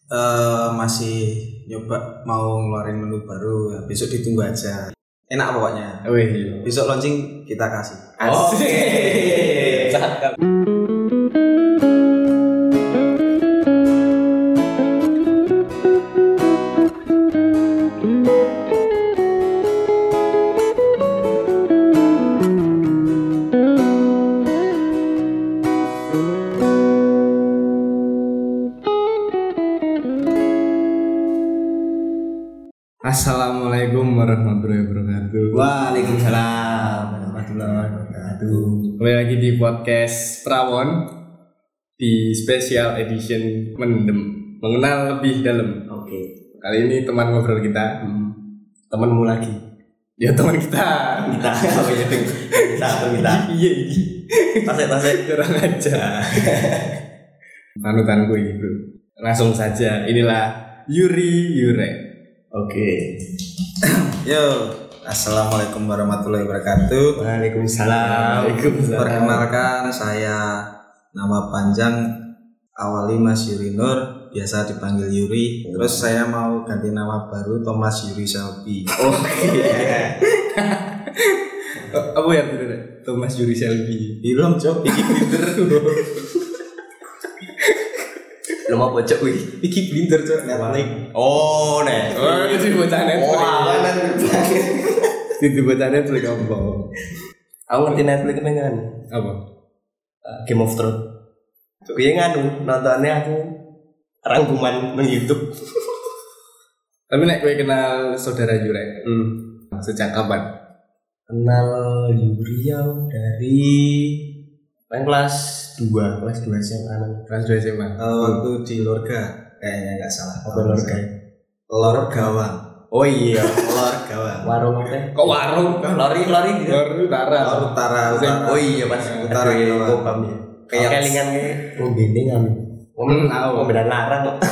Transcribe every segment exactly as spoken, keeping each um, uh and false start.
uh, masih nyoba mau ngeluarin menu baru, ya, besok ditunggu aja. Enak pokoknya. Wih, besok launching kita kasih. Asik. Cakep. Assalamualaikum warahmatullahi wabarakatuh. Waalaikumsalam warahmatullahi wabarakatuh. Kembali lagi di podcast Prawon di special edition Mendem, mengenal lebih dalam. Oke. Kali ini teman ngobrol kita, Hmm. temanmu lagi. Ya teman kita. Kita. Oh iya. Kita atau kita. Iya iya. Tasik-tasik Kurang aja. Panutanku ini bro. Langsung saja, inilah Yuri Yurek. Oke. Yo, assalamualaikum warahmatullahi wabarakatuh. Waalaikumsalam. Waalaikumsalam. Perkenalkan, saya nama panjang Awali Mas Yuri Nur, biasa dipanggil Yuri. Terus saya mau ganti nama baru Thomas Yuri Selby. Oke. Apa ya itu? Thomas Yuri Selby. Belum cok, Piki Blinder. Lo mau bocok wih. Piki Blinder cok, Netflix. Oh, nih. Oh, itu bocah Netflix. Oh, awalan banget. Itu bocah Netflix apa? Aku ngerti Netflix kan. Apa? Uh, Game of Thrones. Kuwi nganu nontonnya aku rangkuman nang YouTube. Tapi nek kowe kenal saudara Yurek, Hmm. sejak kapan? Kenal Yuriau dari main kelas dua, kelas dua S M A. Kelas dua S M A. Uh, waktu di Lorga, kayaknya nggak salah. Apa Lorga? Lor Gawang. Oh iya, Lor Gawang. warung apa? Kok warung? Lori lori gitu. Lor utara. Lor Utara, Utara. Oh iya pas Utara itu Jawa. kopam ya. Kayak Kelingan kayak oh bending kami. Hmm, tahu. Oh beda larang kok.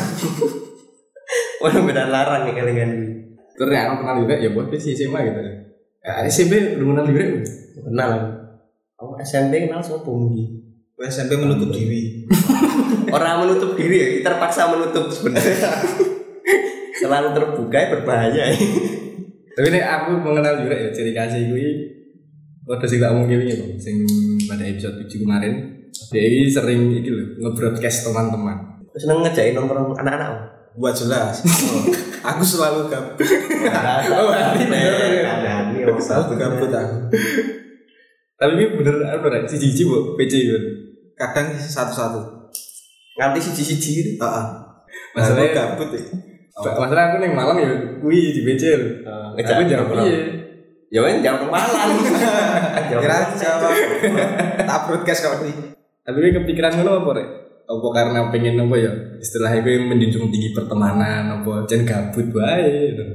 Oh beda larang nih kelingan. Terus ya, aku kenal Yurek ya buat sih S M A gitu. Ya, S M P udah kenal Yurek. Kenal aku. Aku S M P kenal sama Punggi. S M P menutup diri. Orang menutup diri ya, terpaksa menutup sebenarnya. Selalu terbuka ya berbahaya. Tapi nek aku mengenal Yurek ya ciri khasnya gue waktu sing tak omongin iki Bang, sing pada episode tujuh kemarin. Dia ini sering iki lho nge-broadcast teman-teman. Terus seneng ngejain nongkrong anak-anak. Buat jelas. Oh, aku selalu gabut. Oh, berarti bener. Ada nih, Selalu gabut aku. Tapi ini bener apa rek? Siji-siji bu P C kan. Kadang satu-satu. Nganti siji-siji gitu. Heeh. Masalahnya gabut ya. Masalah aku ning Malang ya kuwi di P C lho. Aku jawab piye? Ya kan jawab malam. Kira jawab. Tak broadcast kau nih. Tapi ini kepikiran ngono apa rek? Apa karena pengen apa ya? Istilahnya gue menjunjung tinggi pertemanan apa jan gabut wae gitu.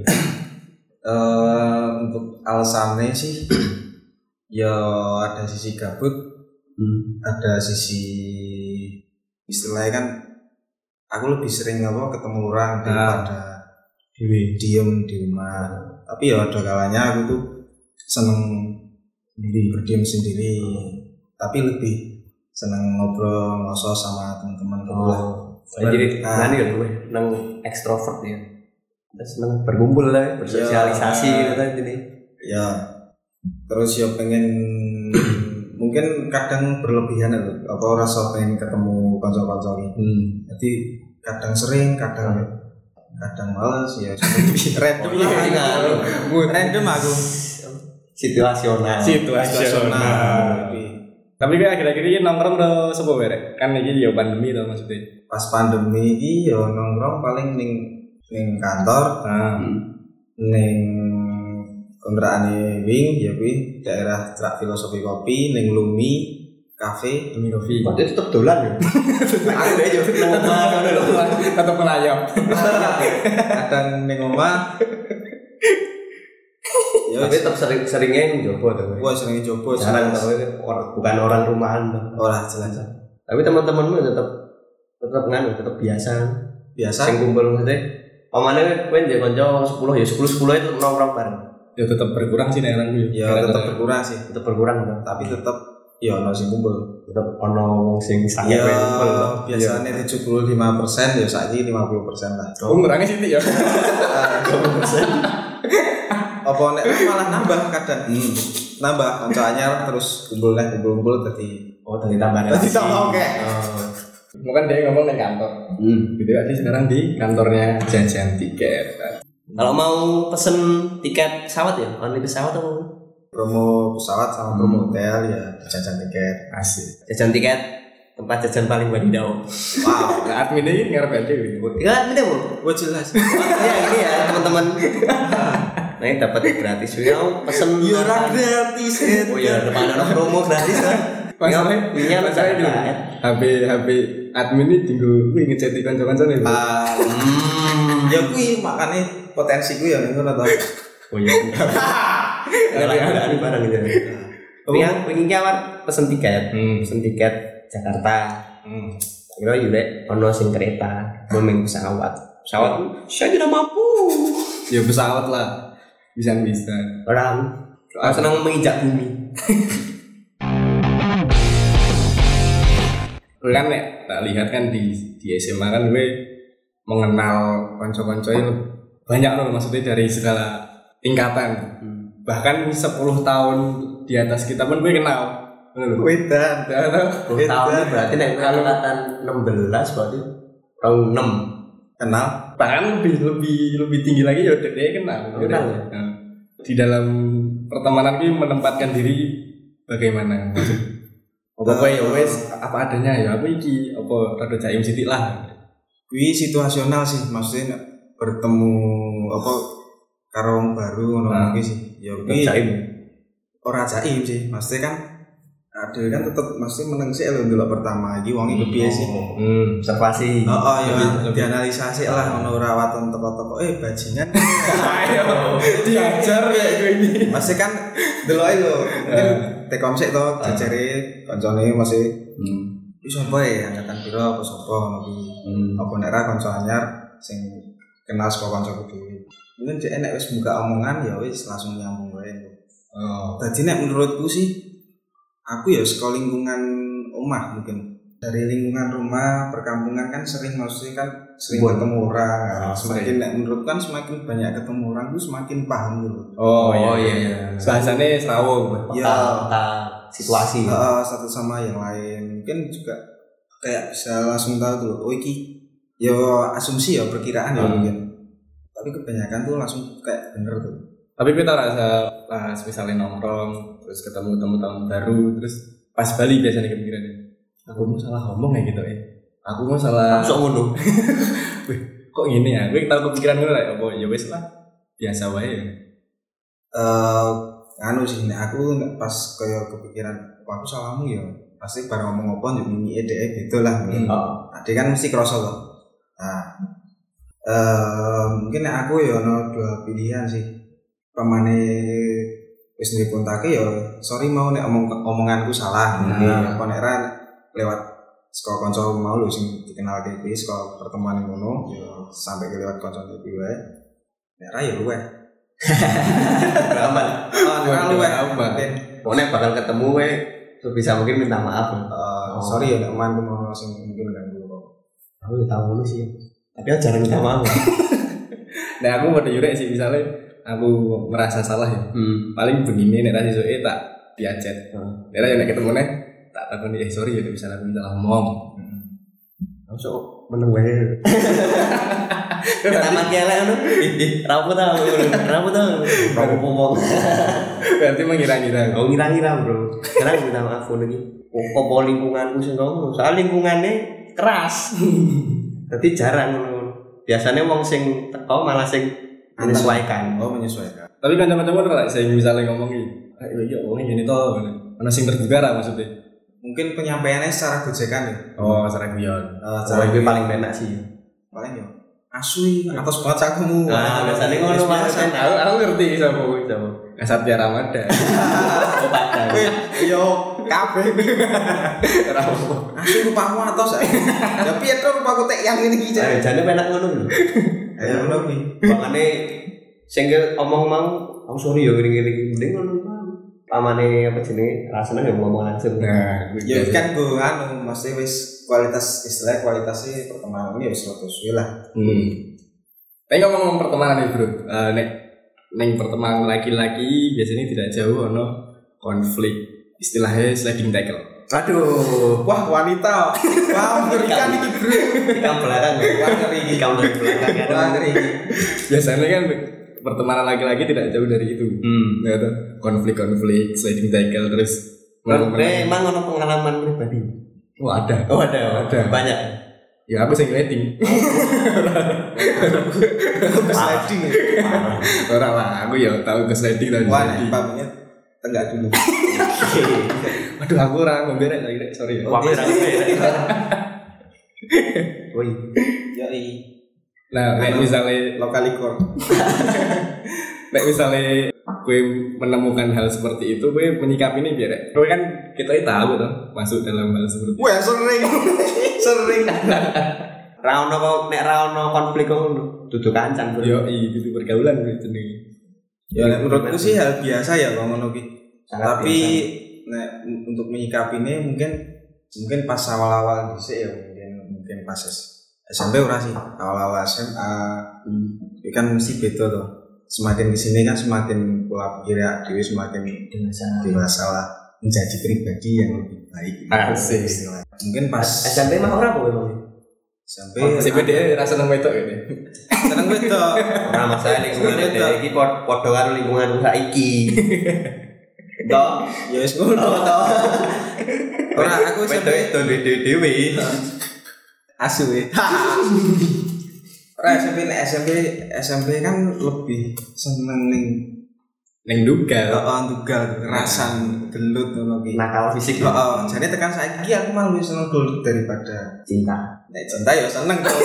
Eh, untuk alasannya sih ya ada sisi gabut, Hmm. ada sisi istilahnya kan aku lebih sering apa ketemu orang daripada diem di rumah. Tapi ya ada kalanya aku tuh seneng berdiam sendiri, tapi lebih seneng ngobrol ngobrol sama teman-teman gitu lah. Oh, jadi Ah. nanti ya gue nang ekstrovert ya. Terus seneng berkumpul lah, bersosialisasi Ya. gitu kan jadi. Ya terus ya pengen mungkin kadang berlebihan loh, apa rasa pengen ketemu konco-konco ini. Hmm. Jadi kadang sering, kadang kadang males ya. Random Oh, iya, lah iya. aku. Random aku. Situasional. Situasional. Tapi kayak akhir-akhir ini nongkrong udah sebuah berek. Kan ini ya pandemi tau maksudnya. Pas pandemi ini ya nongkrong paling ning ning kantor, Nah, ning kontraane wing ya kuwi daerah Cerak Filosofi Kopi, ning Lumi Cafe. Lumi Coffee. Kok dia tetap dolan ya? Aku aja nang omah ngono lho. Tetap melayap. Kadang ning omah. Ya Tapi tetap sering seringnya njobo tuh. gua sering coba Jarang tau orang bukan orang rumahan tuh. ora jelas. Tapi teman-temanmu tetap tetap nganu, tetap biasa. Biasa Sing kumpul maksudnya. Pamane kowe njuk kanca sepuluh ya sepuluh sepuluh itu nongkrong bareng. Ya tetap berkurang sih nek orang gue. ya tetap berkurang sih, Tetap berkurang kan. tapi tetap iya ono sing kumpul. Tetep ono wong sing sange Ya kumpul. biasanya tujuh puluh lima persen ya saiki lima puluh persen lah. Oh, ngurangnya sithik ya. dua puluh persen. Apa nek malah nambah kadang. Hmm. Nambah kanca anyar terus kumpul nek kumpul-kumpul dadi Oh, tadi tambah dadi tambah oke. Oh. Mungkin dia ngomong di kantor. Hmm. Gitu aja sekarang di kantornya jajan tiket. Kalau mau pesen tiket pesawat ya, online pesawat atau Promo pesawat sama promo hotel ya jajan tiket. Asik. jajan tiket tempat jajan paling wadidaw. Wow. Nah, admin ini ngarep aja gitu. Ya, ini Bu. Wah jelas. Ya, ini ya teman-teman. Nah, ini dapat gratis. Ya, pesen Ya gratis. Oh ya, depan ada promo gratis kan. Masalahnya, Iya, masalahnya dulu. H P H P admin ini tinggal gue ngechat kanca-kanca nih. Ah, ya kuwi makane potensi ku ya ngono to. Oh iya. Ada barang gitu. Yang pengen kawan pesen tiket, pesen tiket Jakarta. Hmm. Kira yure ono sing kereta, belum pesawat. Pesawat saya tidak mampu. Ya pesawat lah. Bisa-bisa. Orang ah, senang menginjak bumi. Kan nek tak lihat kan di di S M A kan gue mengenal konco-konco itu banyak loh, maksudnya dari segala tingkatan. Hmm. Bahkan sepuluh tahun di atas kita pun gue kenal. Wedan. sepuluh tahun berarti nek angkatan enam belas berarti tahun enam. Kenal? Bahkan lebih lebih lebih tinggi lagi ya dia kenal. Kenal ya. Nah, di dalam pertemanan gue menempatkan diri bagaimana maksud apa ya wes apa adanya ya aku iki apa rada jaim sithik lah. Kuwi situasional sih, maksudnya bertemu apa karo wong baru ngono kuwi sih. Ya kuwi jaim. Ora jaim sih, maksudnya kan ada kan tetep mesti meneng sih lho ndelok pertama iki wong iki piye sih. Hmm, observasi. Oh, oh ya dianalisa sih lah ngono ora waton teko-teko eh bajingan. Ayo diajar ya gue ini. Masih kan deloke lho. Mungkin tekom sik to jajare kancane masih hmm. Iki sapa ya angkatan pira apa sapa ngono kuwi. Apa nek ra kanca anyar sing kenal saka kancaku dhewe. Mungkin dhek nek wis buka omongan ya wis langsung nyambung wae. Oh. Dadi nek menurutku sih aku ya sekolah lingkungan omah mungkin dari lingkungan rumah perkampungan kan sering maksudnya kan sering Buat. ketemu orang kan. Oh, semakin nek menurut kan semakin banyak ketemu orang tuh semakin paham gitu. Oh, oh iya iya. Bahasanya serawung. Ya situasi. Uh, satu sama yang lain mungkin juga kayak bisa langsung tahu tuh. Oh iki ya asumsi ya perkiraan ya hmm. mungkin. Tapi kebanyakan tuh langsung kayak bener tuh. Tapi kita rasa pas misalnya nongkrong terus ketemu teman-teman baru terus pas balik biasanya kepikiran aku mau salah ngomong ya gitu ya aku mau salah sok ngono kok gini ya gue tahu kepikiran gue lah apa ya wes lah biasa wae ya eh anu sih nek aku pas kayak kepikiran aku salahmu ya pasti bareng ngomong apa njuk mimi ede gitu lah mungkin hmm. Ade kan mesti krasa loh nah eh mungkin nek aku ya ono dua pilihan sih pamane wis duwe kontake ya sorry mau nek omong omonganku salah ngene hmm. apa nek ra lewat saka kanca mau lho sing dikenal K P saka pertemuan ngono ya sampai ke lewat kanca K P wae nek ra ya luwe drama oh nek luwe mungkin nek bakal ketemu wae sebisa mungkin minta maaf uh, oh. Sorry ya nek mantu mau sing mungkin ganggu kok aku ya tahu lu sih tapi aku jarang minta maaf nah aku mau jurek sih misalnya aku merasa salah ya. Hmm. Paling begini nek ra sesuke tak diacet. Heeh. Hmm. Nek nek ketemu nek tak takoni eh sorry ya bisa aku salah ngomong. Heeh. Hmm. Sok meneng wae. Tamat kelek ngono. Ih, rapo ta, rapo ta. Rapo ngomong. Berarti mengira-ngira. Oh, ngira-ngira, Bro. Sekarang minta maaf ngono iki. Opo lingkunganku sing ngono. Soal lingkungane keras. Dadi jarang ngono. Biasanya wong sing teko malah sing menyesuaikan. Oh, menyesuaikan. Tapi kan teman-teman ora saya misalnya ngomong iki, ayo yo ngomongin gini toh. Ana sing terbuka ra maksudnya. Mungkin penyampaiannya secara gojekan ya. Oh, secara guyon. Oh, cara itu paling enak sih. Paling yo. Asu atas banget cakumu. Nah, biasanya ngono Mas. Aku aku ngerti sapa kuwi sapa. Satya Ramadan. Oh, padahal. Yo, kabeh. Ora apa. Asu rupamu atos. Ya piye to rupaku tek yang ngene iki. Ayo jane penak ngono lho. Ayo ngono kuwi. Makane sing omong mau, "Oh sorry ya ngene-ngene mending ngono." pamane apa jenenge rasane ya ngomong langsung. Nah, Ya kan gue anu mesti wis kualitas istilah kualitasnya pertemanan ya wis rada suwe lah. Hmm. Tapi ngomong pertemanan nih bro, uh, nek neng pertemanan laki-laki biasanya tidak jauh ono konflik, istilahnya sliding tackle. Aduh, Wah wanita, wah mengerikan ini bro. ikam belakang ya. Wah ngeri ini. Ikam dari belakang ya. Wah ngeri ini. Biasanya kan pertemanan laki-laki tidak jauh dari itu. Hmm. Ya tuh, konflik-konflik, sliding tackle terus. Eh, emang ono pengalaman pribadi? Oh ada. Oh ada, Ada. Banyak. Ya aku sing rating. Ke sliding ya. Ora lah, aku ya tahu ke sliding dan Wah sliding. nek pamnya tenggak dulu. Aduh aku ora ngombe rek lagi rek, sorry ya. Wah, pirang Woi. Yoi. Nah, nek misalnya Lokalikor. nek misalnya gue menemukan hal seperti itu, gue menyikapi ini biar gue kan kita tahu tuh masuk dalam hal seperti itu. Wah sering, sering. Ra ono kok nek ra ono konflik kok duduk kancan bro. Yo, itu pergaulan gue jenenge. Ya nek menurutku sih hal biasa ya kalau ngono ki. Sangat Tapi nek untuk menyikapinya mungkin mungkin pas awal-awal dhisik ya mungkin mungkin pas S M P ora sih. Awal-awal S M A hmm. kan mesti beda tuh. Semakin di sini kan semakin pola pikir ya dewi semakin dewasa, dewasa lah menjadi pribadi yang lebih baik. Asik. Mungkin pas S M P mah ora apa emang? S M P S M P dia rasa nang wedok gitu. seneng wedok. Ora masalah lingkungan dhek iki padha karo lingkunganku saiki. Toh, Ya wis ngono to. Ora aku S M P wedok itu dhewe. asu ya. Ora S M P nek S M P S M P kan lebih seneng ning Neng duga. heeh ndugal rasan gelut ngono ki. Nakal fisik. Heeh, jane tekan saiki aku malah lebih seneng gelut daripada Cinta. nek cinta ya seneng kok.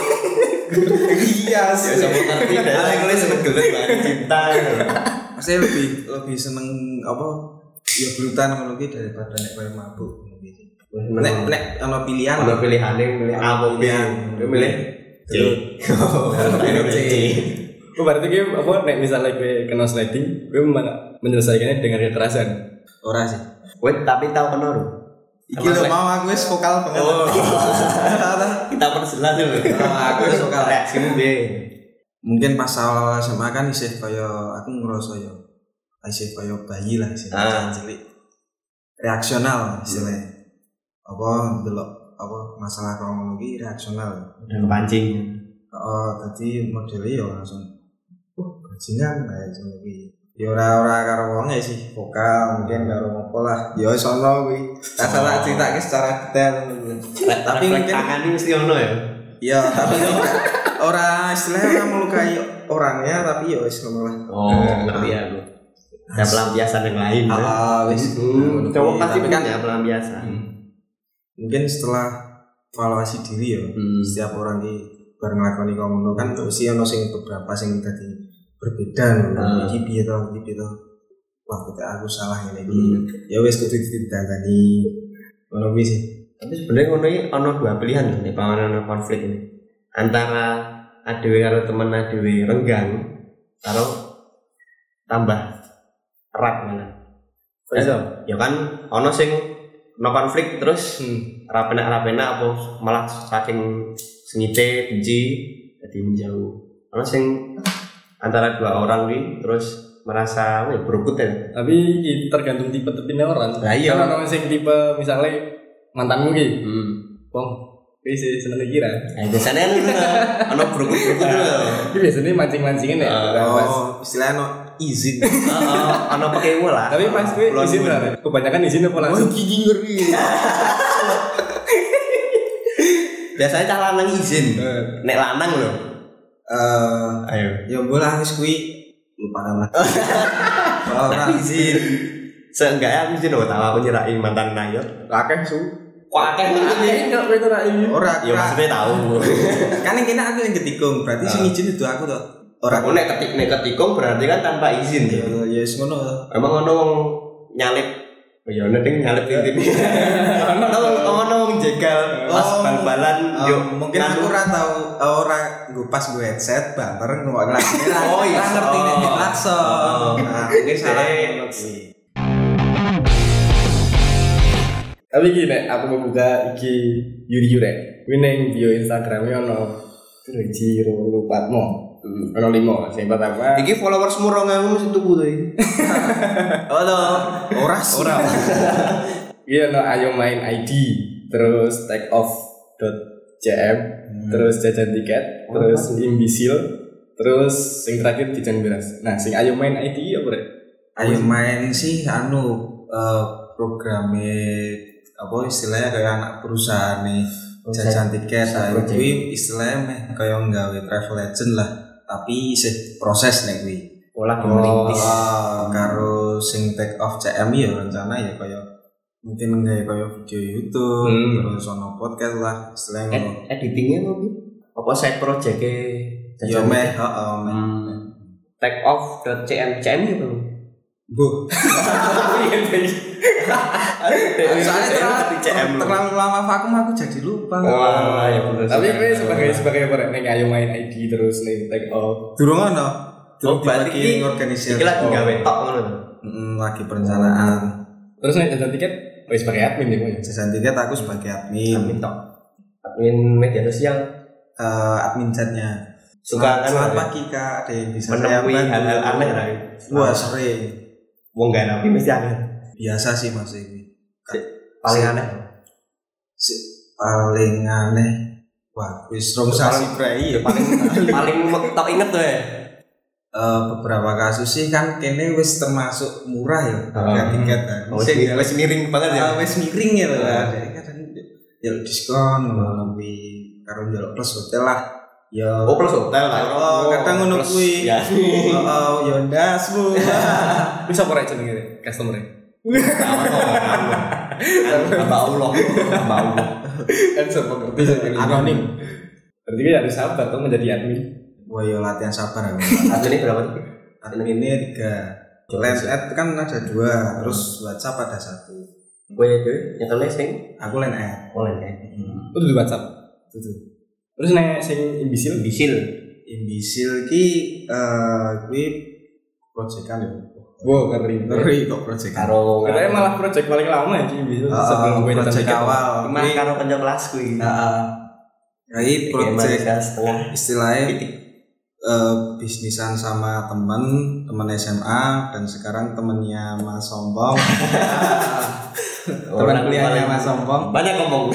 Iya Ya sih. sama ngerti dah kowe seneng gelut banget cinta. Pasti lebih lebih seneng apa? Ya gelutan ngono ki daripada nek koyo mabuk ngono ki. Nek nek ana pilihan Ono pilihane milih A apa B. Kowe milih C. Milih C. Oh, berarti gue apa nek misalnya gue kena sliding, gue malah menyelesaikannya dengan kekerasan. Ora sih. Kowe tapi tau kena lho. Iki lho mau aku wis vokal banget. Oh. Kita perjelas dulu. Aku wis vokal. Reaksimu B. Mungkin pas awal S M A kan isih kaya aku ngerasa ya isih kaya bayi lah isih Ah. cilik. Reaksional istilahnya. Apa delok apa masalah kaya ngono ki reaksional. Dan pancing. Oh, tadi modelnya ya langsung uh, bajingan kayak ngono ki. Ya ora-ora karo wong ya sih, vokal mungkin karo ngopo lah. Ya wis ono kuwi. Tak salah critake secara detail ngono. Tapi mungkin tangan ini mesti ono ya. ya tapi ora istilahnya ora melukai orangnya tapi ya wis ngono lah. Oh, ngerti ya lu. Ada pelampiasan yang lain. ya. Ah, wis. Hmm, cowok pasti Tapi kan punya pelampiasan. mungkin setelah evaluasi diri ya, Hmm. setiap orang ki bar nglakoni kono kan mesti ono sing beberapa sing tadi berbeda lho. Hmm. Iki piye to, iki piye to. Wah, kok aku salah ngene iki. Hmm. Ya wis kudu ditandani. Ngono kuwi sih. Tapi sebenarnya ngono iki ono dua pilihan nih panganan konflik ini. Antara adewe karo temen adewe renggang karo tambah erat malah. Bisa. Ya kan ono sing no konflik terus Hmm. rapena-rapena apa malah saking sengite benci jadi menjauh. Ono sing antara dua orang nih terus merasa wih berebut ya. Tapi ini tergantung tipe-tipenya orang. Lah iya. Kalau orang sing tipe misalnya mantanmu ki, Hmm. wong bisa seneng kira. Nah, biasanya kan itu ono berebut-berebut lho. Ini biasanya mancing-mancingin ya. Ah, Nah, pas. Oh, istilahnya no izin. Heeh, ono pakai lah. Tapi pas gue Belum izin pun. lah. Kebanyakan izin apa langsung? gigi ngeri. Biasanya cah lanang izin. Eh, Nek lanang lho. Eh, Ayo. ya bola wis kuwi lupa nama. Ora izin. Seenggaknya aku izin oh tahu aku nyerahin mantan nayot. akeh su. Kok akeh Akeh enggak kowe tuh rai. ora. Ya maksudnya tahu. Kan yang kena aku yang ketikung, berarti sing izin itu aku toh. Ora Aku nek ketik nek ketikung berarti kan tanpa izin. ya Ya. ya wis ngono toh. Emang ono wong nyalip. Oh ya ono ding nyalip tintin. Ono ono wong jegal pas Oh, bal-balan Um, yo mungkin aku ora tahu ora gue pas gue headset banter ngomong lagi. Oh, iya. Ora ngerti nek Oh. klakson. Oh. Nah, mungkin salah Eh. ngono kuwi. Tapi gini, aku mau buka iki Yuri Yurek. Kuwi ning bio Instagramnya ono Riji Rupatmo. Ono lima, sing pertama. Iki followersmu rong ewu mesti tuku to iki. Halo, ora ora. Iya ono ayo main I D, terus take off dot c m, hmm. terus jajan tiket, oh, terus apa? Imbisil, terus sing terakhir jajan beras. Nah, sing ayo main I D apa rek? Ayo main sih anu uh, programnya apa istilahnya kayak anak perusahaan nih jajan tiket. Nah, itu istilahnya kayak nggawe travel agent lah, tapi sih proses nih kuwi. Olah oh, uh, karo sing take off C M ya rencana ya kayak mungkin nggak kayak video YouTube hmm. terus ono podcast lah istilahnya ngono. Ed- editingnya apa sih? Apa side project-e ya meh heeh meh. Take off dot c m c m itu. Bu. Soalnya terlalu, terlalu lama vakum aku jadi lupa. Oh, ya benar. Tapi gue sebagai sebagai apa nek ayo main I D terus ning take off. Durung ono. Durung lagi organisasi. Iki lagi gawe tok ngono. Heeh, lagi perencanaan. Terus nek jajan tiket wis sebagai admin ya, Mas. Jajan tiket aku sebagai admin. Admin tok. Admin media sosial, uh, admin chatnya. Suka kan selamat pagi Kak, ada yang bisa saya bantu hal-hal aneh lah. Wah, sering. Wong gak nabi mesti aneh. Biasa sih Mas ini. Si, paling aneh. Si, paling aneh. Wah, wis rong sasi prei ya paling paling tok inget tuh ya. Uh, beberapa kasus sih kan kene wis termasuk murah ya harga uh, tiket kan. Oh, wis wis miring banget ya. Uh, wis miring ya lho. Jadi kadang ya diskon lebih karo njaluk plus hotel lah. Ya oh plus hotel lah. Oh, kadang ngono kuwi. Ya. Heeh, ya ndas Bu. Bisa ora jenenge customer-e? Mbak Allah. Mbak Allah. Kan sempat ngerti sing anonim. Berarti kan harus sabar tuh menjadi admin. Wah, yo latihan sabar aku. Admin ini berapa tuh? Admin ini tiga. Line ad kan ada dua, terus WhatsApp ada satu. Gue itu nyetelnya sing aku line ad. Oh line ad. Hmm. Itu di WhatsApp. Itu. Terus nek sing imbisil, imbisil, imbisil ki eh kuwi proyekan ya. Wow, keren. Ngeri kok proyek. Karo katanya malah proyek paling lama ya imbisil sebelum gue proyek awal. Mah karo kanca kelasku iki. Heeh. Kayak proyek setengah istilahnya Uh, bisnisan sama temen temen S M A dan sekarang temennya Mas Sombong. Teman kuliahnya Mas Sombong. Banyak ngomong.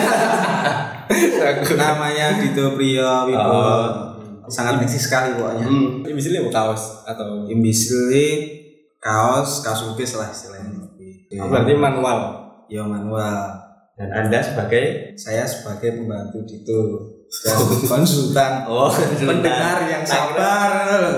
Namanya Dito Priyo Wibowo. Oh. Sangat eksis sekali pokoknya. Hmm. Imbisilnya mau kaos atau imbisilnya kaos, kaos lukis lah istilahnya. Oh, berarti manual. Ya manual. Dan Anda sebagai? Saya sebagai pembantu Dito. Dan konsultan, oh, pendengar yang sabar.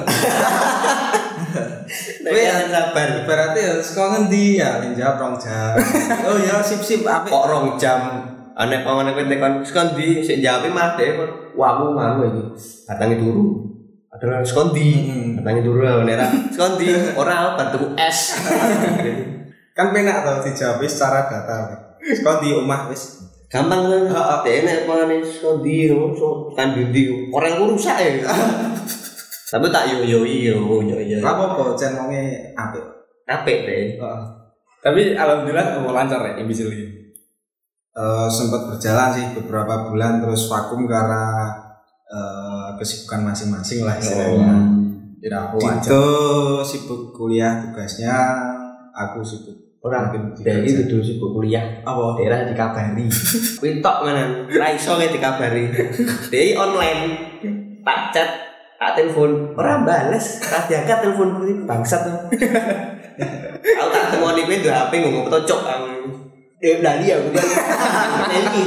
Kowe yang sabar. Berarti ya sekolah ngendi ya jawab rong jam. Oh ya sip-sip apik. Kok rong jam? Anek pamane kowe tekan sekondi sik jawabe mah dhewe. Wah, aku mau iki. Datangi turu. Adalah sekondi. Datangi turu nek ra sekondi ora bantu es. Kan penak to dijawab secara data. Sekondi omah wis gampang kan, heeh, dene mangane skondi so kan ndi orangku rusak ya. Tapi tak yo yo yo yo yo. Ora apa-apa, jan wonge apik. Apik deh. Heeh. Tapi alhamdulillah mau lancar ya imbisil iki. Eh sempat berjalan sih beberapa bulan terus vakum karena uh, kesibukan masing-masing lah istilahnya. Tidak aku itu sibuk kuliah tugasnya, aku sibuk orang dari itu dulu sibuk kuliah apa daerah dikabari kuwi tok menan ra iso ke dikabari dhewe online tak chat tak telepon ora bales tak diangkat telepon kuwi bangsat to aku tak temoni kuwi do H P ngomong tocok aku eh lali aku kan iki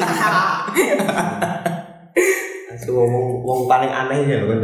aku ngomong wong paling aneh ya kan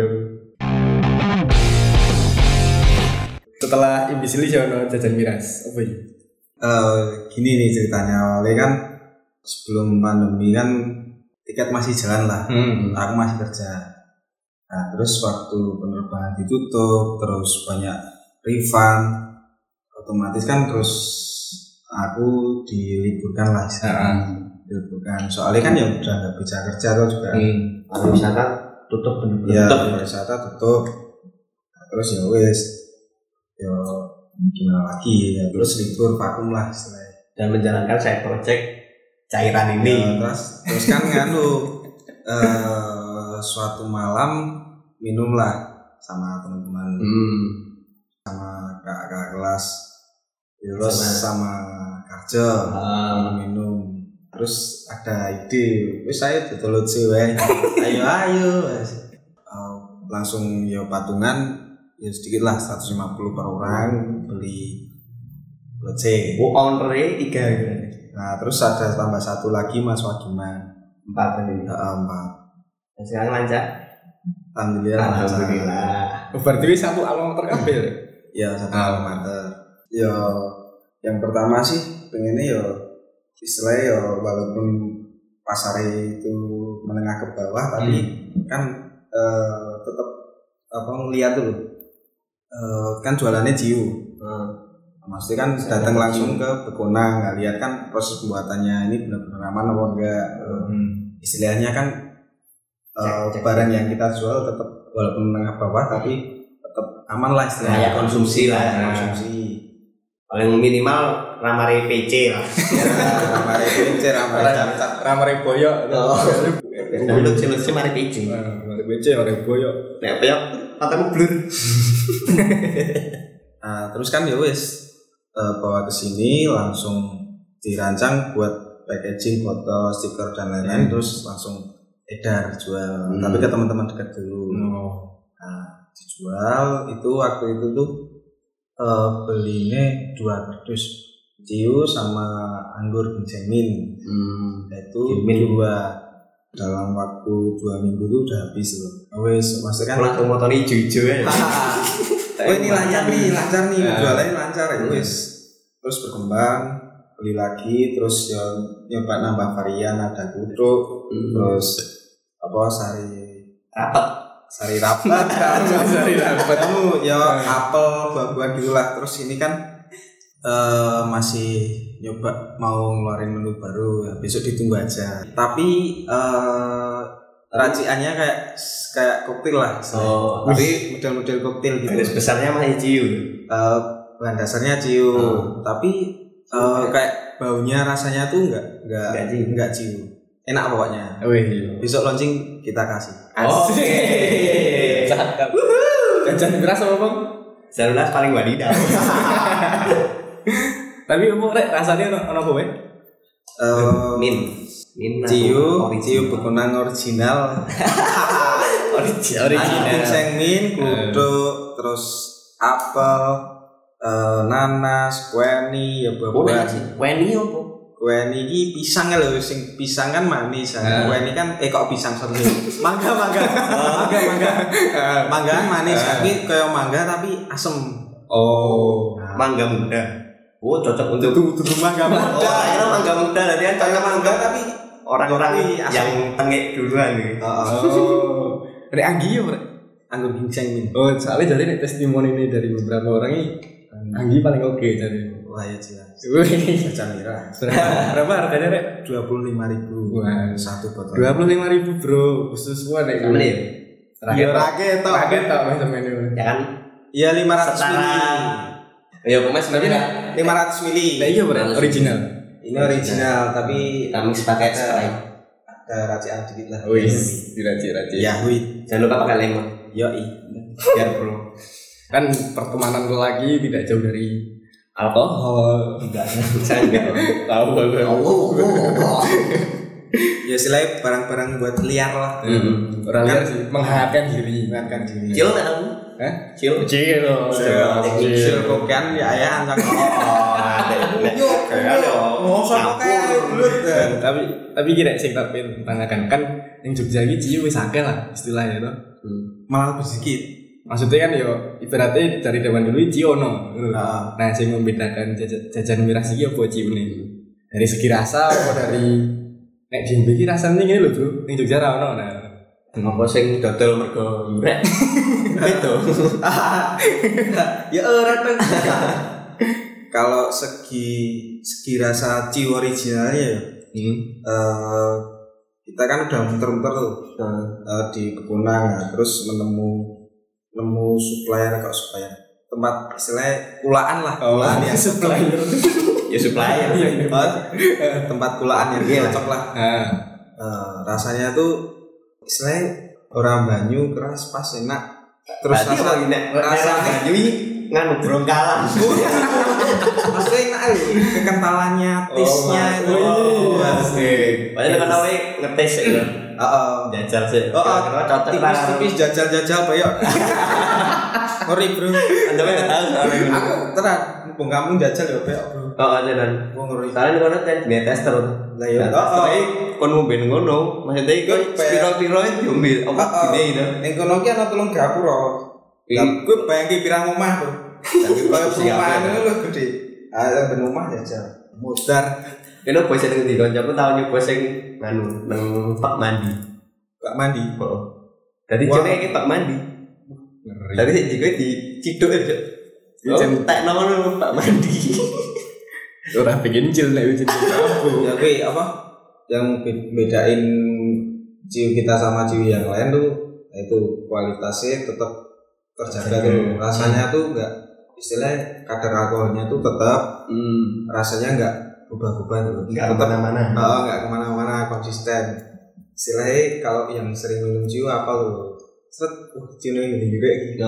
setelah imbisil jono jajan miras apa iki? Uh, gini nih ceritanya awalnya kan sebelum pandemi kan tiket masih jalan lah, hmm. aku masih kerja. Nah terus waktu penerbangan ditutup terus banyak refund, otomatis kan terus aku diliburkan lah, uh-huh. diliburkan. Soalnya kan ya udah nggak bisa kerja tuh juga. Hmm. Pariwisata tutup bener-bener. Ya pariwisata tutup. Nah, terus ya wes, ya gimana lagi ya terus libur vakum lah istilahnya. dan menjalankan side project cairan ini. Ya, terus terus kan nganu uh, suatu malam minumlah sama teman-teman, Hmm. sama kakak kelas, terus sama Karjo Ah. minum. Terus ada ide, wis saya ditulut sih weh. Ayo ayo. Uh, langsung ya patungan ya sedikit lah seratus lima puluh per orang beli goceng. Oh, owner-nya tiga gitu. Nah, terus ada tambah satu lagi Mas Wagiman. Empat tadi. Heeh, empat. Dan sekarang lancar. Alhamdulillah. Alhamdulillah. Oh, berarti wis satu alma terkambil. Ya, satu alma mater. Ya, yang pertama sih pengennya ya istilahnya ya walaupun pasar itu menengah ke bawah tapi hmm. kan eh, tetap apa ngeliat dulu eh, kan jualannya Jiu hmm. maksudnya kan datang langsung ke Bekonang nggak lihat kan proses pembuatannya ini benar-benar aman apa enggak hmm. istilahnya kan eh, cek, cek, barang yang kita jual tetap walaupun menengah bawah tapi tetap aman lah istilahnya ya konsumsi lah ya. Konsumsi paling minimal ramare P C lah. Ramare P C, ramare cacat, ramare boyok. Oh. Mulut sih mari P C. Ramare P C, ramare boyok. Nek boyok matamu blur. Nah, terus kan ya wis uh, bawa ke sini langsung dirancang buat packaging, foto, stiker dan lain-lain hmm. terus langsung edar jual. Hmm. Tapi ke teman-teman dekat dulu. Oh. Nah, dijual itu waktu itu tuh Uh, belinya dua kardus Jiu sama anggur benjamin hmm. itu dua dalam waktu dua minggu itu udah habis loh. Wes maksudnya kan langsung motornya hijau-hijau ya. Oh ini lancar nih, lancar nih jualannya lancar ya wes. Terus berkembang beli lagi terus ya nyoba nambah varian ada guduk hmm. terus apa sari rapat sari rapat sari rapat kamu ya apel buah-buahan gitulah terus ini kan uh, masih nyoba mau ngeluarin menu baru ya besok ditunggu aja tapi uh, raciannya kayak kayak koktail lah oh, tapi model-model koktail gitu garis besarnya masih Jiu uh, bahan dasarnya Jiu hmm. tapi uh, kayak baunya rasanya tuh enggak enggak enggak Jiu enggak Jiu enak pokoknya. Oh, iya. Besok launching kita kasih. Oh, cakep. Jajan beras apa bang? Jajan beras paling wadidaw. Tapi umum rek rasanya ono ono apa? Uh, min, min. Jiu, Jiu Bekonang original. original. Original. Ginseng min, guduk, terus apel, uh, nanas, kueni, ya buah-buahan. Kueni apa? Kue ini pisang ya loh, sing pisang kan manis. Nah. Kue ini kan eh kok pisang sorry. Mangga mangga, mangga mangga, mangga kan manis tapi kayak mangga tapi asem. Oh, nah. Mangga muda. Oh cocok untuk tuh tuh mangga muda. Oh, akhirnya mangga muda tadi kan kayak mangga tapi orang-orang yang tengik duluan nih. Oh, dari Anggi ya bro? Anggur ginseng ini. Oh soalnya jadi nih testimoni ini dari beberapa orang ini Anggi paling oke jadi. Wah ya jelas. Jajan merah. Berapa harganya rek? Dua puluh lima ribu. Wah, satu botol. Dua puluh lima ribu bro, khusus gua deh. Mana ya? Iya raket toh. Raket toh macam ini. Ya kan? Iya lima ratus mili. Ya pokoknya sebenarnya lima ratus mili. Nah iya bro, original. Ini original tapi kami pakai Sprite. Ada racian dikit lah. Wih, diracik-racik. Ya wih. Jangan lupa pakai lemon. Yoi. Biar bro. Kan pertemanan lagi tidak jauh dari alkohol. Enggak, saya enggak tahu tahu. Ya selain barang-barang buat liar lah. Hmm. Orang liar sih menghangatkan diri, menghangatkan diri. Cil enggak tahu? Hah? Cil. Cil. Cil kan ya ayah anjang. Oh, ada. Ada. Oh, sama kayak dulu. Tapi tapi kira sing tak pengen tanyakan kan yang Jogja iki ciu wis akeh lah istilahnya to. Malah lebih sedikit. Maksudnya kan yo ibaratnya dari zaman dulu Ciono. Nah, nah sing membedakan jajan, jajan miras iki apa ciune? Dari segi rasa apa dari nek jembe iki rasane ngene lho, Bro. Ning Jogja ra ono. Nah, apa sing dodol mergo yurek? Itu. Ya ora tuh. Kalau segi segi rasa ciu originalnya ya. Hmm. Uh, kita kan udah muter-muter tuh uh, di Bekonang nah, terus menemu nemu supplier kok supplier tempat istilahnya kulaan lah kulaan oh, yang supplier Ya supplier. Tempat kulaan yang cocok lah. Nah, Uh, rasanya tuh istilahnya orang Banyu keras pas enak. Terus Berarti rasa kalau nek rasanya Banyu iki nganu brongkalan. maksudnya enak loh, kekentalannya, taste-nya itu. Oh, asik. Padahal kan awake ngetes ya. Heeh. Jajal sih. Oh, oh, cocok tipis-tipis jajal-jajal bayok. Ngeri bro. Anda enggak tahu soalnya. Aku terang, mumpung kamu jajal ya bayok bro. Oh, jalan. Gua ngeri. Soalnya kono kan dia tester. Lah ya. Oh, kon ngombe ngono. Maksudnya iku spiro-spiro diombe apa gede itu. Ning kono ki ana telung gapura. Lah kuwi bayangke pirang omah bro. Tapi koyo perumahan itu lho gede. Ah, ben omah jajal. Modar. Kene bos sing ndi kancaku tau nyoba sing nganu nang Pak Mandi. Pak Mandi. Heeh. Dadi jenenge iki Pak Mandi. ngeri. Dadi sik jike diciduk aja. Dicentek nang Pak Mandi. Ora pengen cil nek wis aku. Ya kuwi apa? Yang bedain ciu kita sama ciu yang lain tuh itu kualitasnya tetap terjaga tuh. Rasanya tuh enggak istilahnya kadar alkoholnya tuh tetap Hmm. rasanya enggak berubah-ubah tuh. Enggak kemana-mana. Oh, enggak kemana-mana, konsisten. Istilahnya kalau yang sering minum ciu apa tuh? Set, uh, ciu ini juga gitu.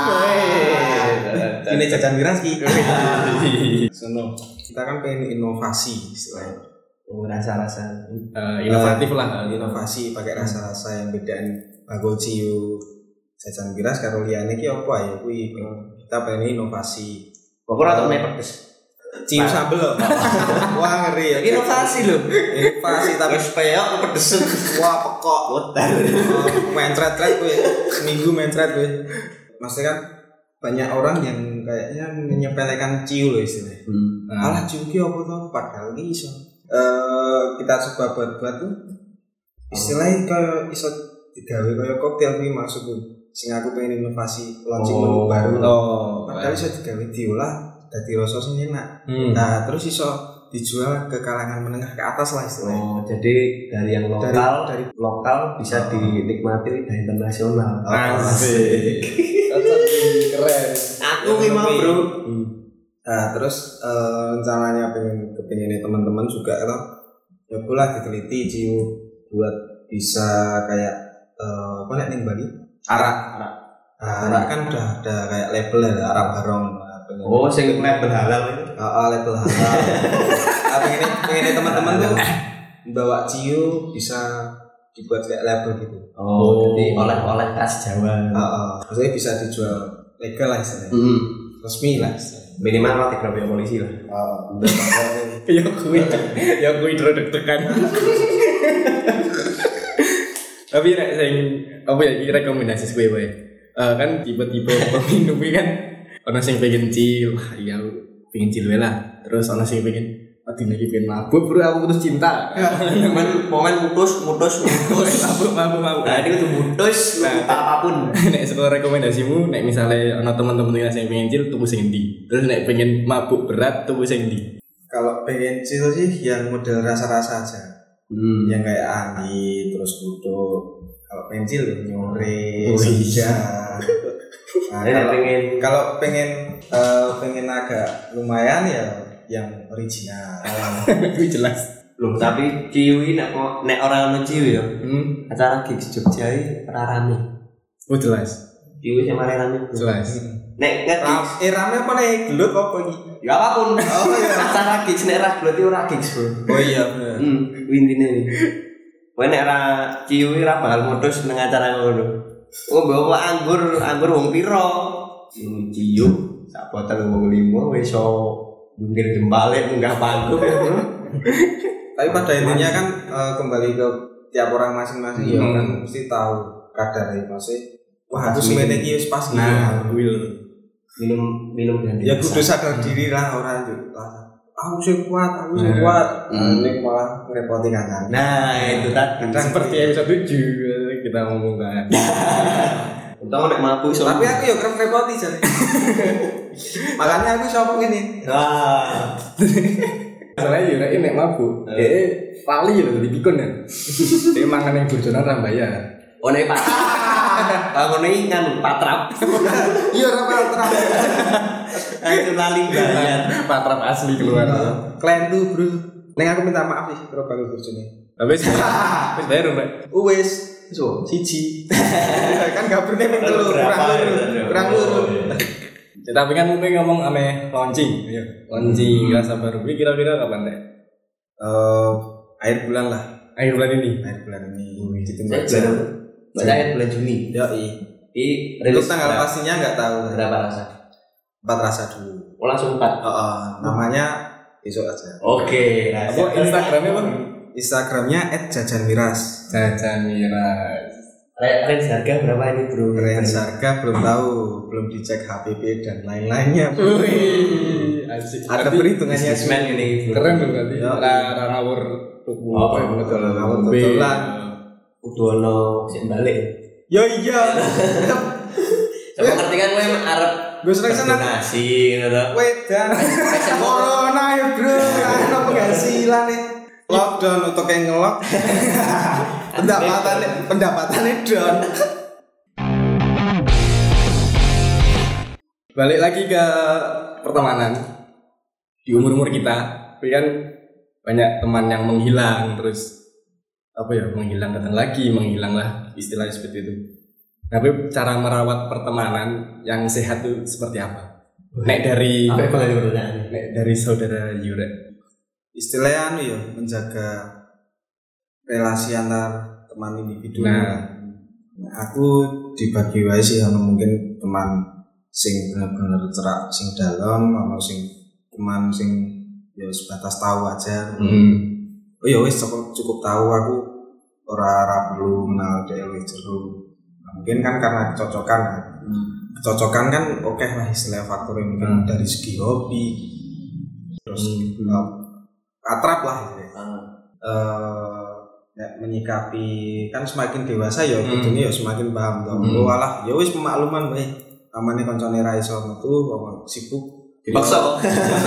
Ini jajan miras ki. Sono. Kita kan pengen inovasi istilahnya. Oh, rasa-rasa. Eh, inovatif lah. Inovasi pakai rasa-rasa yang bedain bagol ciu jajan miras karo liyane ki apa ya kuwi kita pengen inovasi. Pokoknya atau mie pedes. Ciu sambel loh. Wah ngeri ya. Inovasi loh. Inovasi tapi Wis peyok pedes. wah pekok. Botar. Mencret-tret gue seminggu mencret gue. Maksudnya kan banyak orang yang kayaknya menyepelekan ciu loh istilahnya. Hmm. Alah ciu ki apa tuh padahal ki iso. Eh kita coba buat-buat tuh istilahnya kayak iso digawe kayak koktail ki maksudku. Sing aku pengen inovasi launching menu baru. Oh, Padahal iso digawe diolah dadi rasa sing enak. Hmm. Nah, terus iso dijual ke kalangan menengah ke atas lah istilahnya. Oh, jadi dari yang lokal Dari, dari lokal bisa dinikmati lidah internasional. Asik. Keren. Aku ki mau, Bro. Nah, terus eh, rencananya pengen kepinginnya teman-teman juga kan ya pula diteliti ciu buat bisa kayak eh, apa nek ning Bali? Arak. Arak. Nah, arak kan udah ada kayak label ya, arak barong. Nah, pengen Oh, sing label halal itu. Ah, label halal. Nah, pengen pengen teman-teman tuh bawa ciu bisa dibuat kayak label gitu. Oh, jadi oleh-oleh khas Jawa. Heeh. Maksudnya bisa dijual legal lah istilahnya. Hmm. Resmi lah istilahnya. Minimal lah tiga polisi lah. Oh, Ya kuwi, ya kuwi deg-degan. Tapi nek sing apa ya iki rekomendasi kowe wae. Eh kan tiba-tiba peminum iki kan ana sing pengen cil, wah iya aku pengen cil wae lah. Terus ana sing pengen aduh lagi pengen mabuk bro aku putus cinta. Momen momen mutus mutus mutus. mabuk mabuk mabuk. Nah, ini kudu mutus lu Nah, apapun. nek sekolah rekomendasimu nek misalnya ana teman-teman yang pengen cil tuku sing endi? Terus nek pengen mabuk berat tuku sing endi? kalau pengen chill sih yang model rasa-rasa aja. Hmm. Yang kayak angin terus kutu. Kalau pengen chill nyore, Oh, senja. Nah, Ini kalau pengen kalau pengen eh, pengen agak lumayan ya yang original. Kuwi jelas. loh, tapi ciwi nek nek ora ono ciwi ya. Hmm, Acara gigs Jogja iki ora rame. oh jelas. Ciwi sing mari rame. Jelas. Nek nget Ram, eh rame apa nih? Gelut apa iki? ya apapun. Oh iya. Acara gigs nek ra berarti ora gigs, Bro. Oh iya bener. Hmm, intine iki. Kowe nek ra ciwi ra bakal modus nang acara ngono. Oh, bawa anggur, anggur wong piro? Minum ciu, sak botol wong limo wis iso munggir jempale munggah panggung ya, Bro. Tapi pada intinya kan eh, kembali ke tiap orang masing-masing ya Hmm. kan mesti tahu kadar ya masih. Wah, aku Pas semene minum. iki wis pas iki. Nah, will. Minum minum ganti. Ya kudu sadar diri lah orang itu. Aku sih kuat, aku sih Nah. kuat. Hmm. Ini malah ngerepoti kan. Nah, itu tadi. Kadang Seperti episode tujuh kita ngomongkan. Untung nek mabuk iso. Tapi aku ya kerem repoti jadi. Makanya aku shopping ini. ah, Masalahnya ya nek nek mabuk, Eh. dia lali lho di pikun kan. Dia mangan yang bojonan ra bayar. oh nek Pak. Aku nih kan patrap. Iya ora patrap. Itu lali bayar. Patrap asli keluar. Kalian tuh bro. Neng aku minta maaf sih kalau baru bojone. Tapi wis wis bayar Mbak. Wis, So, siji. kan gak pernah ning telu kurang luru. Kurang luru. Ya, tapi kan mungkin ngomong ame launching, ya. Launching rasa baru. Ini kira-kira kapan deh? Eh, akhir bulan lah. Akhir bulan ini. Akhir bulan ini. Ditunggu Saya aja. baru baca bulan Juni. Yo i. Di Untuk tanggal pastinya nggak tahu. berapa rasa? Empat rasa dulu. Oh, langsung empat. Heeh, namanya besok aja. Oke, Apa Instagramnya bang? Instagramnya et jajan miras. Jajan miras. Range harga berapa ini bro? Range harga belum tahu, belum dicek H P P dan lain-lainnya. Wih, asik. Ada Berarti perhitungannya. Businessman ini. keren dong berarti. Ya. Ra ngawur tuku Oh, apa ya betul. ngawur betulan. Udono sing balik. Yo iya. Coba ngerti kan gue emang Arab Gue sering sana. nasi gitu tuh. Wedan. Corona ya bro. Ada penghasilan nih. Lockdown untuk yang ngelok. Pendapatannya pendapatannya down. Balik lagi ke pertemanan di umur-umur kita, tapi kan banyak teman yang menghilang terus apa ya menghilang datang lagi menghilang lah istilahnya seperti itu. Tapi cara merawat pertemanan yang sehat itu seperti apa? Nek dari Apa yang boleh bertanya? nek dari saudara Yure. Istilahnya anu ya menjaga relasi antar teman individu. Nah. Nah, aku dibagi wae sih ana mungkin teman sing bener-bener cerak sing dalam, ana sing teman sing ya sebatas tahu aja. Hmm. Oh ya wis cukup, cukup tahu aku ora ora perlu kenal dhek luwih jero. Nah, mungkin kan karena kecocokan. Hmm. Kecocokan kan oke okay lah istilah faktor yang mungkin hmm. dari segi hobi. Terus hmm. uh, atrap lah gitu. Ah. Uh, ya, menyikapi kan semakin dewasa ya Hmm. kudune ya semakin paham to. Hmm. Oh alah ya wis pemakluman wae. Amane kancane ra iso metu apa sibuk Dipaksa.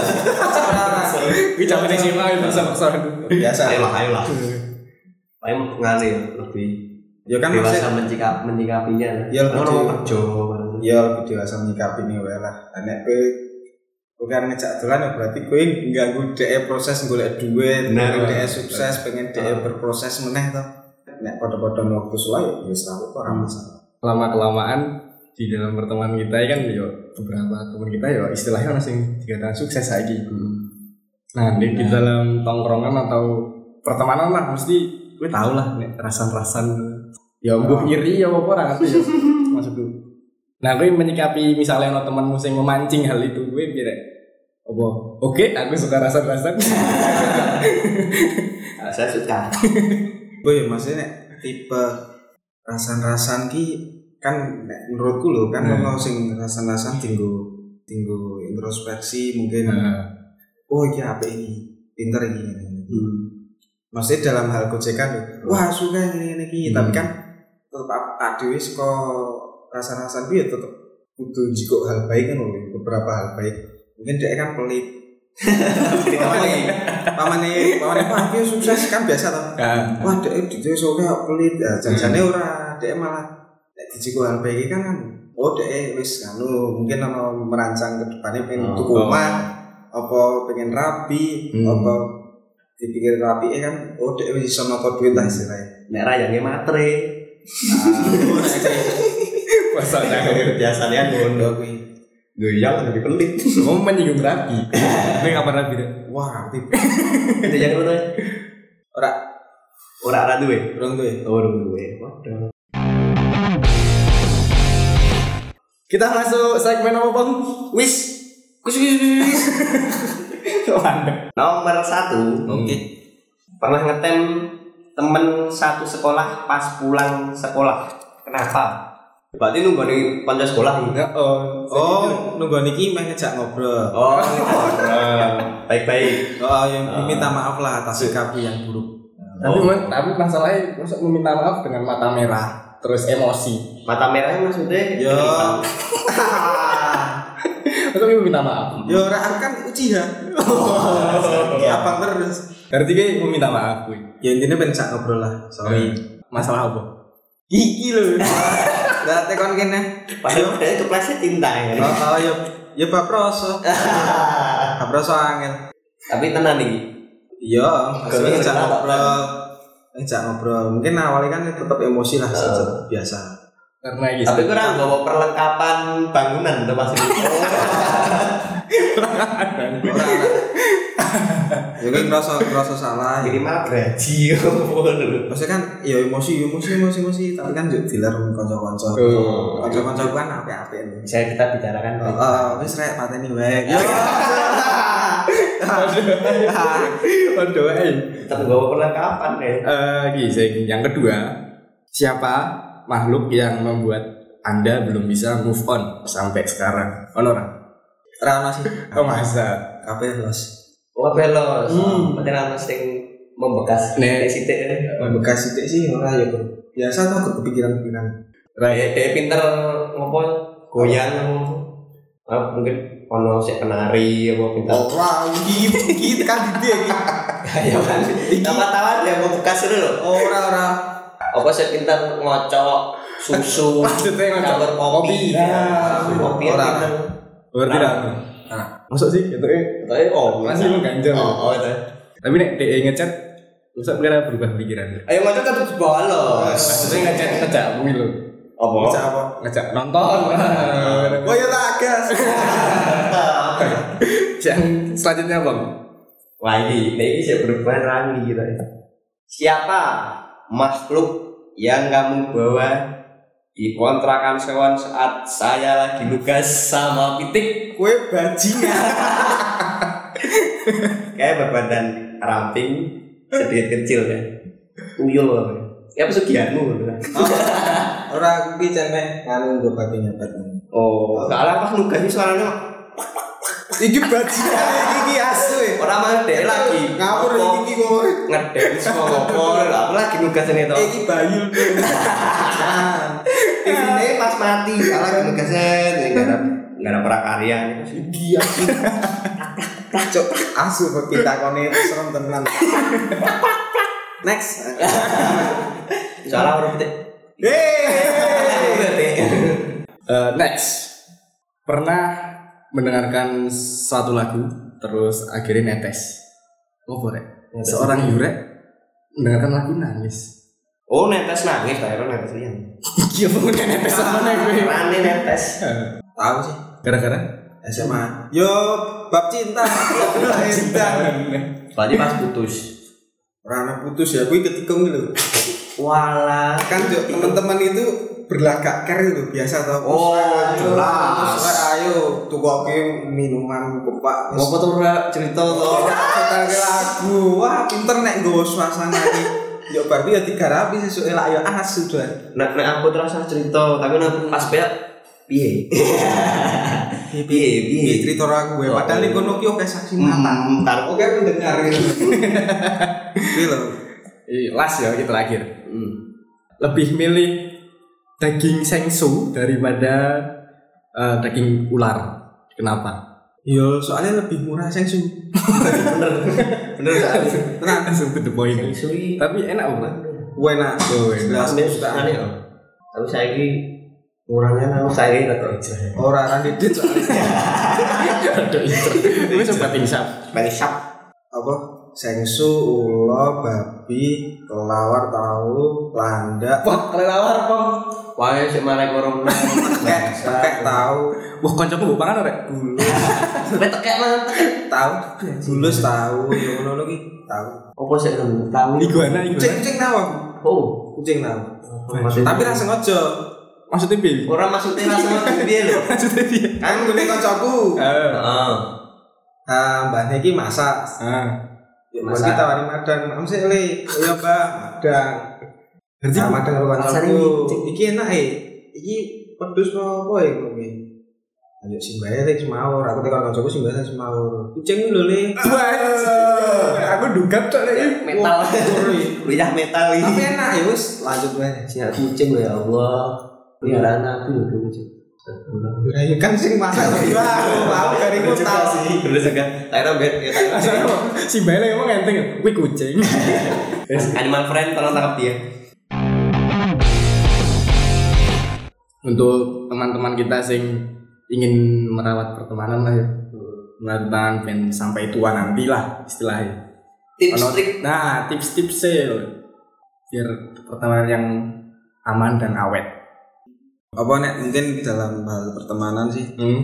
Iki jamane sih mah paksa-paksa. biasa. Ayo lah, ayo lah. Ayo mengalir lebih Ya kan dewasa maksudnya menyikap menyikapinya. Ya, orang lebih- mau kerja. ya lebih dewasa menyikapi ini wae lah. Nek kowe bukan ngejak dolan ya berarti kowe ngganggu dhek proses golek duit, Bener. pengen dhek sukses, pengen dhek berproses meneh to. Nek padha-padha waktu suwe ya wis tau kok ora masalah. Lama-kelamaan di dalam pertemanan kita kan yo beberapa teman kita yo istilahnya orang sing dikatakan sukses saiki. Nah, di, di dalam tongkrongan atau pertemanan lah mesti gue tau lah nek rasan-rasan ya mbuh iri ya apa ora ngerti ya maksudku. Nah, gue menyikapi misalnya ono temanmu sing memancing hal itu, gue kira apa? Oke, aku suka rasan-rasan. Ah, saya suka. Boy, maksudnya nek tipe rasan-rasan ki kan nek menurutku lho kan Hmm. ono sing rasan-rasan tinggo tinggo introspeksi mungkin Nah, oh iya apa ini pinter ini. Hmm. Maksudnya dalam hal gojekan lho. Wah, suka ini ini iki, Hmm. tapi kan tetap adewe saka rasan-rasan ki ya tetep kudu jiko hal baik kan lho, beberapa hal baik. Mungkin dia kan pelit. Pamane pamane pamane wah iki sukses kan biasa toh. kan. Wah, dhek di desa ora pelit. Ya janjane ora, dhek malah nek dijiko hal baik kan kan oh dhek wis anu mungkin ana merancang ke depannya pengen Oh. tuku omah, apa pengen rapi, Hmm. apa dipikir rapi kan oh dhek wis iso nata duit lah istilahnya. Nek rayange matre. Masalahnya Biasanya ngono kuwi. Goyang lebih pelit. mau menyinggung rapi. Gue kapan rapi deh? Wah, tipe Itu yang ngono. ora Ora ora duwe. urung duwe. Oh, ora duwe. Waduh. Kita masuk segmen apa bang? Wis. Kus kus kus, kus. Mantap. Nomor satu. Oke. Pernah ngetem temen satu sekolah pas pulang sekolah. Kenapa? Berarti nunggu nih kanca sekolah nih. Ya, oh, Oh, nunggu niki meh ngejak ngobrol. Oh, baik-baik. Oh, yang minta maaf lah atas sikap yang buruk. Tapi man, tapi masalahnya masuk meminta maaf dengan mata merah, terus emosi. Mata merahnya maksudnya? Yo. Masa gue minta maaf? Yo ora aku kan ujian. Abang terus. Berarti gue meminta maaf gue. Ya intinya ben sak ngobrol lah. Sorry. Masalah apa? Gigi loh. Berarti kon kene. Padahal itu kepleset cinta ya. Oh, oh ya ya bab rasa. Bab rasa angel. Tapi tenan iki. Iya, maksudnya ngejak ngobrol. Ngejak ngobrol. Mungkin awalnya kan tetap emosi lah uh. biasa. Karena gitu. Tapi kurang bawa perlengkapan bangunan tuh Mas. Ya kan ngerasa ngerasa salah. Jadi malah gaji. Maksudnya kan ya emosi emosi emosi emosi tapi kan juga dealer kanca-kanca. Kanca-kanca kan apik-apik. Bisa kita bicarakan. Heeh, wis rek pateni wae. Waduh, eh. Terbawa perlengkapan deh. Eh, gini, yang kedua, siapa makhluk yang membuat Anda belum bisa move on sampai sekarang? Honor. Rana sih. Oh masa. Kabeh los. Oh belos. Hmm. Berarti rana sing membekas. Nek sithik. Membekas sithik sih ora ya, Bro. Biasa tuh kepikiran-kepikiran. Kayak dia pinter ngopo goyang ah, mungkin ono sik penari apa pinter. Ora iki iki kan ide iki. Ya kan. Tawa-tawa dia membekas dulu lho. Ora ora. Apa sik pinter ngocok susu. Maksudnya ngocok kopi. Kopi ora. Berarti dah. Nah, masuk sih gitu eh. Tapi oh, masih lu ganjel. Oh, oh itu. Tapi nek D E ngechat usah kira berubah pikiran. Ayo ngocok tetep bolos. Maksudnya ngechat ngejak kuwi lho. Apa? Ngejak apa? Ngejak nonton. Oh ya tak gas. Yang selanjutnya Bang. Wah ini, ini bisa berubah rangi gitu ya. Siapa makhluk yang kamu bawa di kontrakan sewan saat saya lagi nugas sama Pitik? Kue bajingan. Kayak berbadan ramping, sedikit kecil kan. Uyul apa? Ya pesugihanmu kan. Ora aku ki cemek nganu nggo baginya badan. Oh, soalnya pas nugas iki suaranya iki bajingan iki asu e. Ora mah dhek lagi ngawur iki kok ngedance ngopo aku lagi nugas ini to. Iki bayu. Ini pas mati, salah nugasen enggak ada enggak ada prakarya iki asu. Cok asu kok pitakone serem tenan. Next. Soalnya orang Pitik. Uh, next, pernah mendengarkan suatu lagu terus akhirnya netes. Oh boleh. Seorang Yurek mendengarkan lagu nangis. Oh netes nangis, tapi netes lian. Iya punya netes mana gue? Rane netes. Tahu sih. Gara-gara S M A. Yo bab cinta. Cinta. Soalnya pas putus. Rana putus ya, gue ketikung gitu. Walah, kan teman-teman itu berlagak care itu biasa tau. Oh, jelas. Ayo tukoke minuman kepak. Ngopo to ora cerita to. Setel lagu. Wah, pinter nek nggo suasana iki. Yo bar ya digarapi sesuke lak yo asu doan. Nek nek aku terus cerita, tapi nek pas pek piye? Piye piye cerita aku gue. Padahal ning kono ki oke saksi mata. Entar oke mendengar. Iki lho. Last ya kita terakhir. Hmm. Lebih milih daging sengsu daripada uh, daging ular. Kenapa? Yo soalnya lebih murah sengsu. Bener. Bener soalnya. Tenang langsung to the point. Sengsu tapi enak banget. Enak. Oh, enak. Suka-sukane kok. Tapi saiki kurangnya nang saya atau aja. Ora ora didit soalnya. Aduh itu. Wis sempat insap. Insap. Apa? Sengsu, ulo, babi, kelawar, tahu, landak. Wah, kelawar Bang. Wae sik marek orang tekek, tekek tahu. Wah, kancaku mbok pangan ora? Bulus. Sampai tekek man, tahu. Bulus tahu, yo ngono iki tahu. Opo sik tahu? Iguana, iguana. Kucing tahu aku. Oh, kucing tahu. Tapi ra sengaja. Maksudnya piye? Ora maksudnya ra sengaja piye lho? Maksudnya piye? Kan ngene kancaku. Heeh. Heeh. Ah, mbahne iki masak. Heeh. Ya mesti tawari madang. Am sik le. Ya, Mbak, madang. Berarti madang karo kancaku. Iki enak e. Iki pedus apa ya kowe? Ayo simbahe sing semawur. Aku tekan kancaku simbahe sing semawur. Kucing lho le. Aku dugat tok lek metal. Luyah metal iki. Tapi enak ya wis lanjut wae. Siap kucing lho ya Allah. Peliharaan aku lho kucing. Ya ya kan sing masak ya mau kariku tahu sih. Bener juga. Taira bet ya taira. Si Bale emang enteng. Kuwi kucing. Animal friend tolong tangkap dia. untuk teman-teman kita sing ingin merawat pertemanan lah ya. Merawat ben sampai tua nanti lah istilahnya. Tips Ono- trik. Nah, tips-tips sih biar pertemanan yang aman dan awet. Apa nek mungkin dalam hal pertemanan sih Hmm.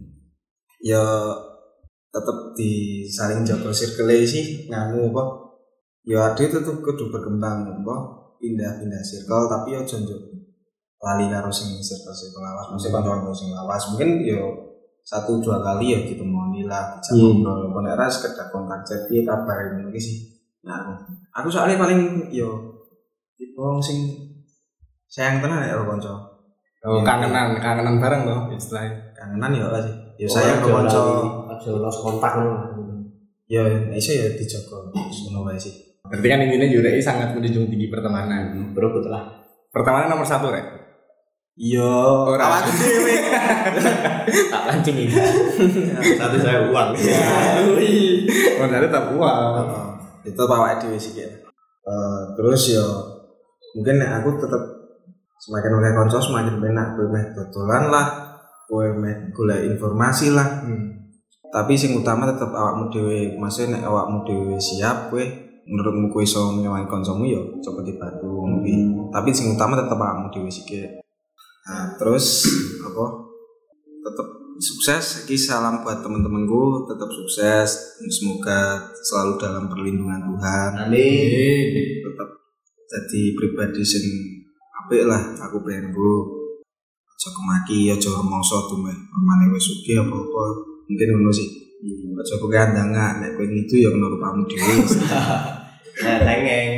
ya tetep di saling jaga circle sih nganu apa ya ade tetep kudu berkembang apa pindah-pindah circle tapi ya aja njuk lali karo sing circle-circle lawas mesti kanca-kanca sing lawas mungkin ya satu dua kali ya gitu moni lah bisa Hmm. ngobrol apa nek ra sekedar kontak chat piye kabar ngono iki sih nah aku aku soalnya paling yo tipe wong sing sayang tenan nek karo kanca Oh, Ya. kangenan, kangenan bareng loh istilahnya. kangenan ya ora sih ya Oh, sayang aja karo kanca lali, aja los kontak ngono. ya iso ya dijaga ngono wae sih. Berarti kan intinya Yurek sangat menjunjung tinggi pertemanan. Bro betul lah. Pertemanan nomor satu, Rek. Iya, Ora. awakku dhewe. Tak pancing ini. Satu saya uang. Modalnya tetap uang. Heeh. Itu awake dhewe sih kayak. Eh, terus ya mungkin nek aku tetep semakin oleh kanca semakin penak kowe meh dodolan lah, kowe meh golek informasi lah. Hmm. Tapi sing utama tetep awakmu dhewe. Maksudnya nek awakmu dhewe siap kowe menurutmu kowe iso ngewangi kancamu ya coba dibantu ngopi. Tapi sing utama tetep awakmu dhewe sih kayak. Nah, terus apa? Tetap sukses. Iki salam buat teman-temanku, tetap sukses. Semoga selalu dalam perlindungan Tuhan. Amin. Tetap jadi pribadi sing apik lah. Aku pengen gue aja kemaki, aja rumangsa tuh meh pamane wis sugih apa-apa. Mungkin ngono sih. Aja kowe kandangan, nek kowe ngidu ya kena rupamu dhewe. Nah, tengeng.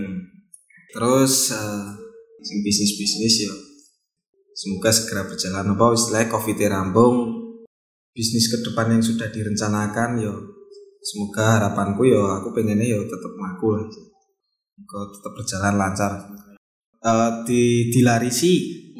Terus eh, sing bisnis-bisnis ya semoga segera berjalan apa istilahnya covid rampung bisnis ke depan yang sudah direncanakan ya semoga harapanku ya aku pengennya ya tetap makul semoga tetap berjalan lancar. Eh, di dilarisi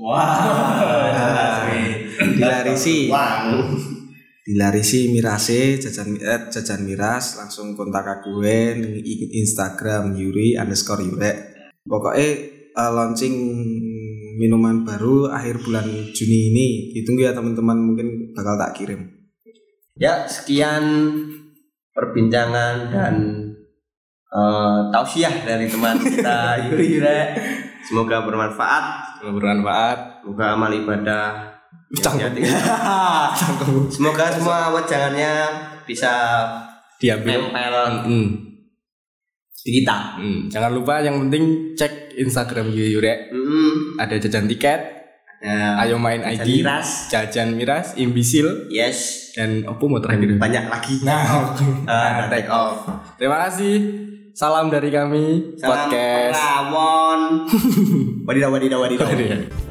Wah. dilarisi Wah. dilarisi mirase jajan eh, jajan miras langsung kontak aku gue di Instagram Yuri underscore Yurek pokoknya uh, launching minuman baru akhir bulan Juni ini ditunggu ya teman-teman mungkin bakal tak kirim. Ya, sekian perbincangan dan uh, tausiah dari teman kita Yuri Yurek. Semoga bermanfaat. Semoga bermanfaat. Semoga amal ibadah. Cangkem. Semoga semua wejangannya bisa Diambil. nempel Hmm. di kita. Hmm. Jangan lupa yang penting cek Instagram Yurek. Mm, Ada jajan tiket, ada ayo main I jajan D, miras. jajan miras, imbisil, Yes. dan opo mau terakhir. Banyak lagi. Nah, Ah, take off. Terima kasih. Salam dari kami Salam podcast. Rawon. Wadidaw wadidaw wadidaw. Oh, iya.